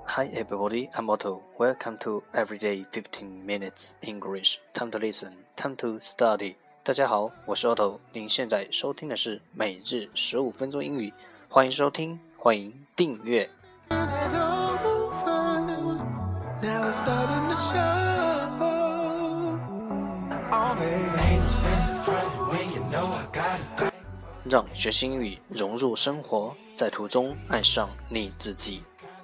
Hi everybody, I'm Otto. Welcome to Everyday 15 Minutes English. Time to listen, time to study. 大家好，我是 Otto。您现在收听的是每日15分钟英语，欢迎收听，欢迎订阅。让学习英语融入生活，在途中爱上你自己。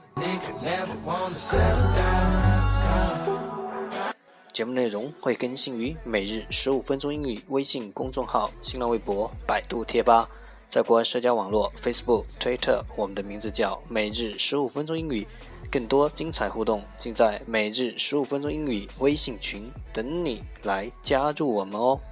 节目内容会更新于每日15分钟英语微信公众号、新浪微博、百度贴吧，在国外社交网络 Facebook、Twitter， 我们的名字叫每日15分钟英语。更多精彩互动尽在每日15分钟英语微信群，等你来加入我们哦。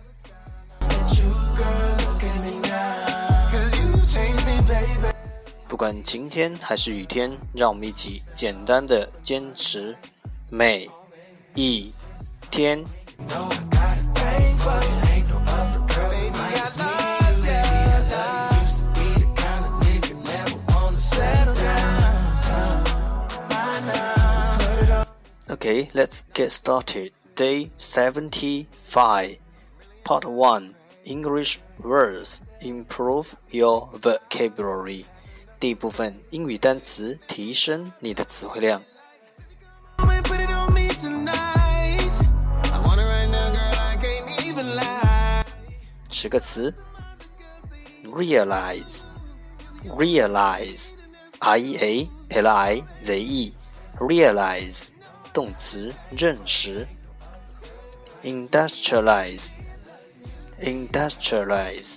不管晴天还是雨天，让我们一起简单的坚持每一天。Okay, let's get started. Day 75. Part 1. English words. Improve your vocabulary. 第一部分英语单词，提升你的词汇量。10个词 Realize Realize I-E-A-L-I-Z-E Realize 动词，认识。Industrialize Industrialize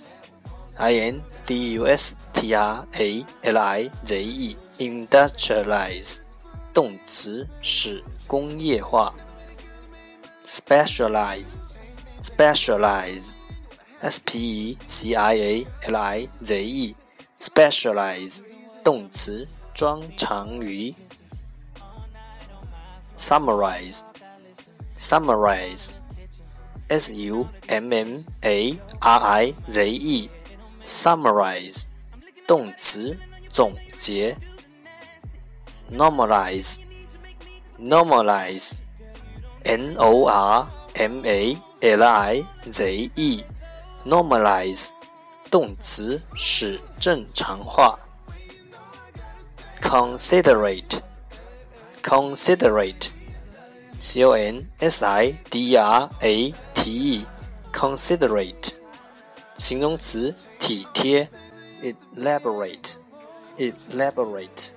I-N-D-U-S-T-R-A-L-I-Z-E Industrialize 动词，使工业化。Specialize Specialize S-P-E-C-I-A-L-I-Z-E Specialize 动词，专长于。Summarize Summarize S-U-M-M-A-R-I-Z-E Summarize 动词，总结。Normalize Normalize N-O-R-M-A-L-I-Z-E Normalize 动词，使正常化。Considerate Considerate C-O-N-S-I-D-R-A-T-E Considerate 形容词，体贴。Elaborate Elaborate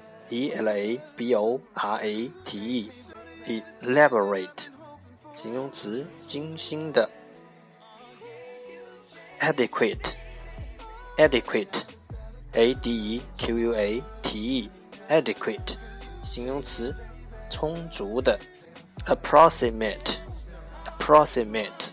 E-L-A-B-O-R-A-T-E Elaborate 形容词，精心的。Adequate Adequate A-D-E-Q-U-A-T-E Adequate 形容词，充足的。Approximate Approximate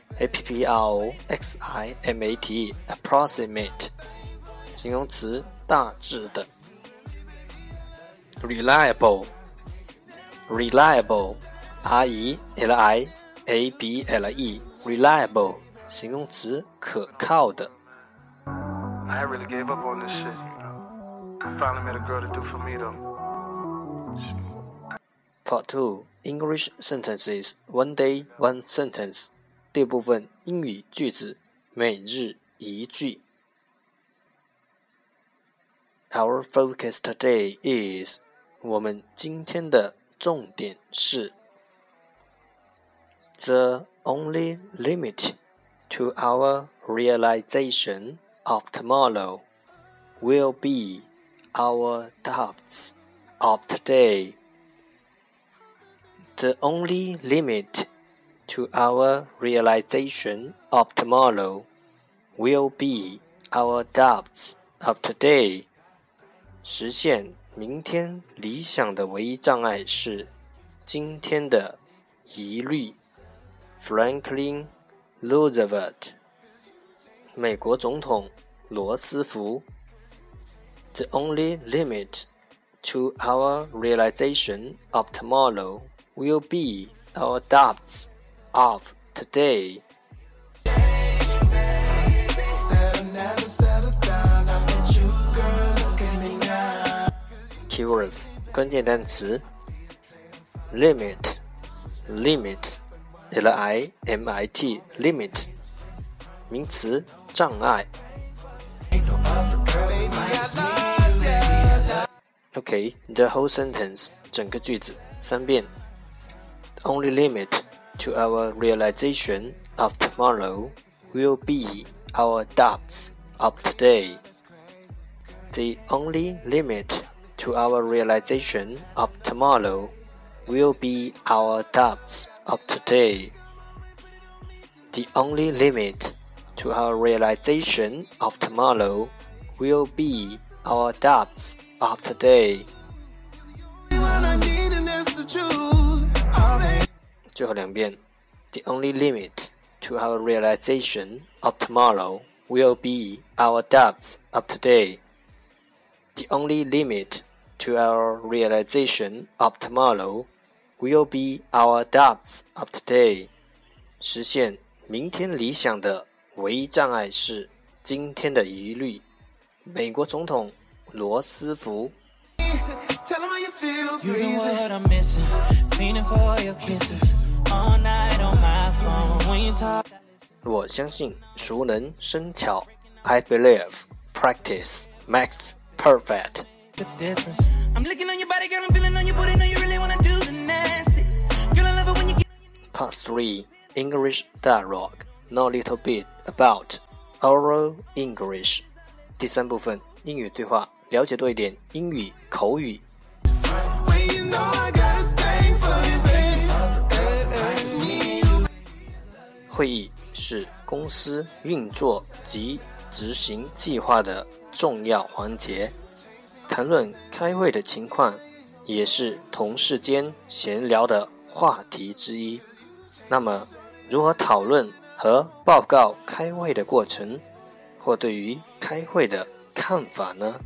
A-P-P-R-O-X-I-M-A-T-E Approximate 形容词，大致的。Reliable Reliable R-E-L-I-A-B-L-E Reliable 形容词，可靠的。 I really gave up on this shit, you know. I finally met a girl to do for me, though. Part 2. English sentences. One day, one sentence. 第二部分英语句子，每日一句。Our focus today is 我们今天的重点是 The only limit to our realization of tomorrow will be our doubts of today. The only limit to our realization of tomorrow will be our doubts of today. 实现明天理想的唯一障碍是今天的疑虑。Franklin Roosevelt 美国总统罗斯福。The only limit to our realization of tomorrow will be our doubts of today. Keywords 关键单词 limit, limit, L-I-M-I-T, limit, 名词，障碍。Okay, the whole sentence, 整个句子3遍。The only limit to our realization of tomorrow will be our doubts of today. The only limit to our realization of tomorrow will be our doubts of today. The only limit to our realization of tomorrow will be our doubts of today. 最后2遍。The only limit to our realization of tomorrow will be our doubts of today. The only limit to our realization of tomorrow will be our doubts of today. 实现明天理想的唯一障碍是今天的疑虑。美国总统罗斯福。我相信熟能生巧。I believe practice makes perfect. Part 3 English Dialogue. Know a little bit about oral English. 第3部分英语对话，了解多一点英语口语。会议是公司运作及执行计划的重要环节，谈论开会的情况也是同事间闲聊的话题之一。那么，如何讨论和报告开会的过程，或对于开会的看法呢？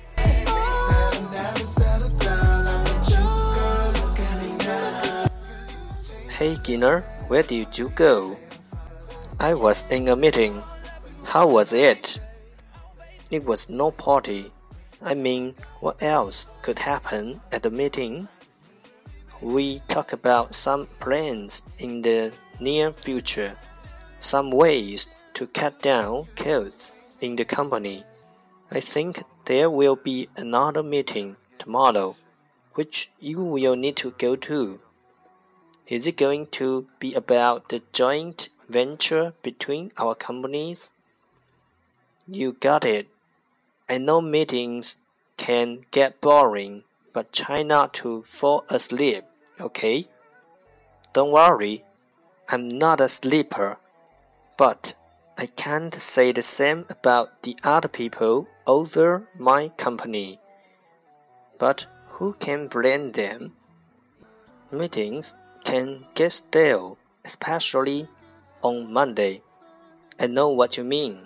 Hey Ginner, where did you go? I was in a meeting. How was it? It was no party. I mean, what else could happen at the meeting? We talk about some plans in the near future, some ways to cut down costs in the company. I think there will be another meeting tomorrow, which you will need to go to. Is it going to be about the joint venture between our companies? You got it. I know meetings can get boring, but try not to fall asleep, okay? Don't worry, I'm not a sleeper, but I can't say the same about the other people over my company. But who can blame them? Meetings can get stale, especially on Monday. I know what you mean.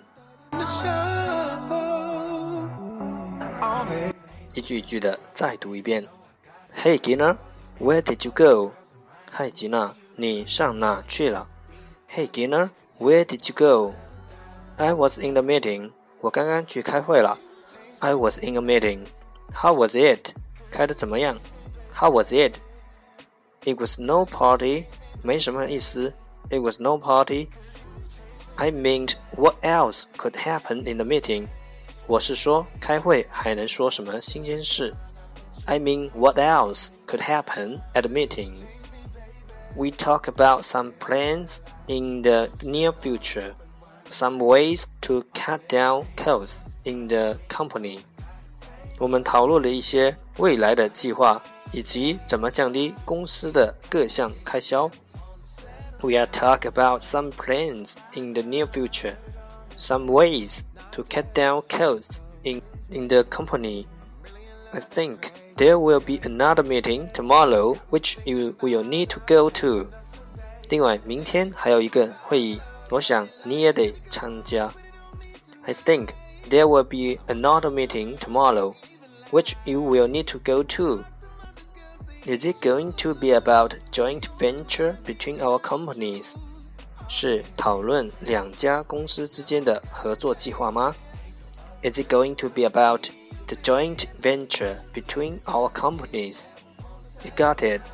一句一句的再读一遍。Hey Gina, where did you go? 嗨吉娜，你上哪去了？ Hey Gina, where did you go? I was in the meeting. 我刚刚去开会了。I was in a meeting. How was it? 开得怎么样？ How was it? It was no party. 没什么意思。It was no party. I meant what else could happen in the meeting? 我是说开会还能说什么新鲜事。I mean what else could happen at the meeting? We talk about some plans in the near future, some ways to cut down costs in the company. 我们讨论了一些未来的计划，以及怎么降低公司的各项开销。We are talk about some plans in the near future, some ways to cut down costs in the company. I think there will be another meeting tomorrow, which you will need to go to. 另外，明天还有一个会议，我想你也得参加。I think there will be another meeting tomorrow, which you will need to go to. Is it going to be about joint venture between our companies? 是讨论两家公司之间的合作计划吗？ Is it going to be about the joint venture between our companies? You got it.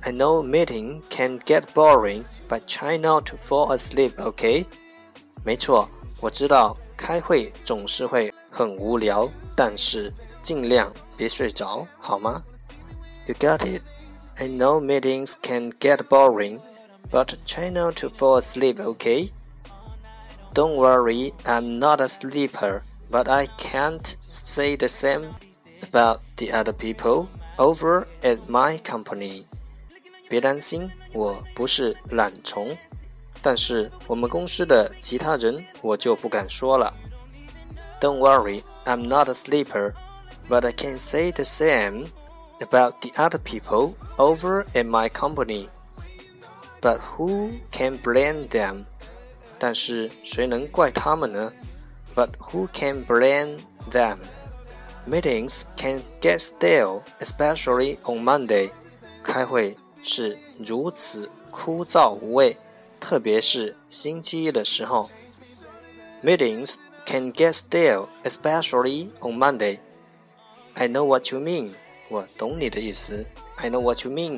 I know meeting can get boring, but try not to fall asleep, okay? 没错，我知道开会总是会很无聊，但是尽量别睡着，好吗？ You got it. I know meetings can get boring, but try not to fall asleep, okay? Don't worry, I'm not a sleeper, but I can't say the same about the other people over at my company. 别担心，我不是懒虫，但是我们公司的其他人我就不敢说了。Don't worry, I'm not a sleeper, but I can say the same about the other people over at my company. But who can blame them? 但是谁能怪他们呢？ But who can blame them? Meetings can get stale, especially on Monday. 开会是如此枯燥无味，特别是星期一的时候。Meetings can get stale, especially on Monday. I know what you mean. 我懂你的意思。I know what you mean.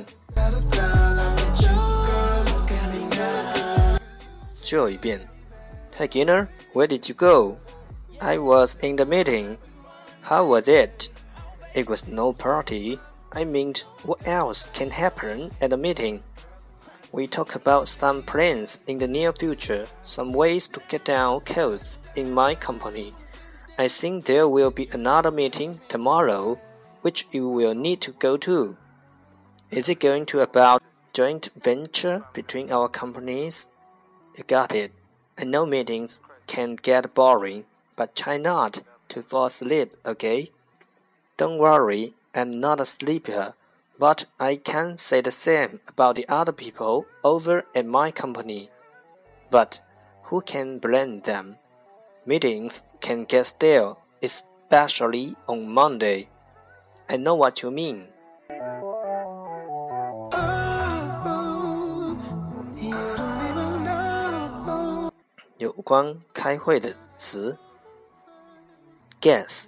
最后一遍。Hey Ginner, where did you go? I was in the meeting. How was it? It was no party. I mean, what else can happen at a meeting? We talk about some plans in the near future, some ways to get down costs in my company. I think there will be another meeting tomorrow, which you will need to go to. Is it going to about joint venture between our companies? You got it. I know meetings can get boring, but try not to fall asleep, okay? Don't worry, I'm not a sleeper, but I can say the same about the other people over at my company. But who can blame them? Meetings can get stale, especially on Monday. I know what you mean. 有关开会的词 Guess,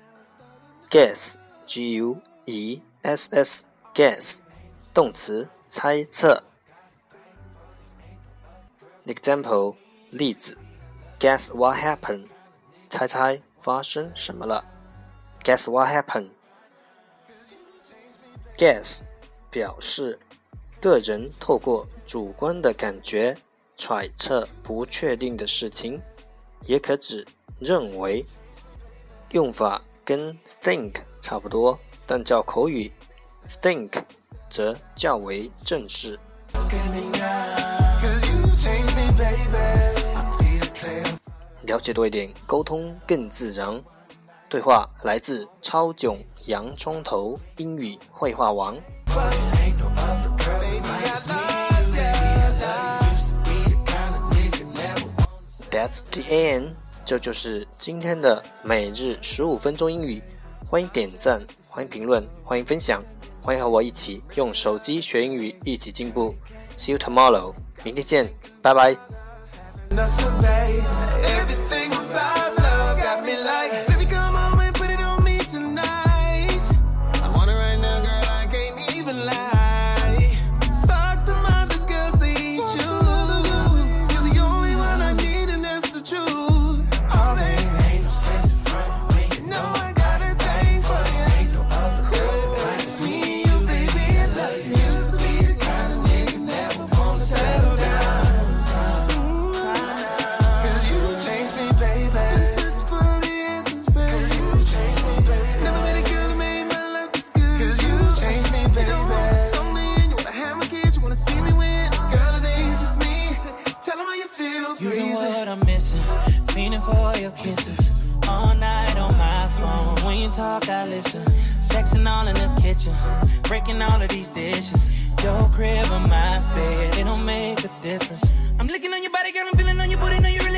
G-U-E-S-S, Guess 动词猜测 Example 例子 Guess what happened 猜猜发生什么了 Guess what happened Guess 表示个人透过主观的感觉揣测不确定的事情，也可指认为。用法跟 think 差不多，但较口语 think 则较为正式。了解多一点，沟通更自然。对话来自超囧洋葱头英语绘画王。That's the end. 这就是今天的每日15分钟英语。欢迎点赞，欢迎评论，欢迎分享，欢迎和我一起用手机学英语，一起进步。See you tomorrow. 明天见，拜拜。 Fiending for your kisses all night on my phone. When you talk, I listen. Sexing all in the kitchen, breaking all of these dishes. Your crib or my bed, it don't make a difference. I'm licking on your body, girl, I'm feeling on your booty, know you're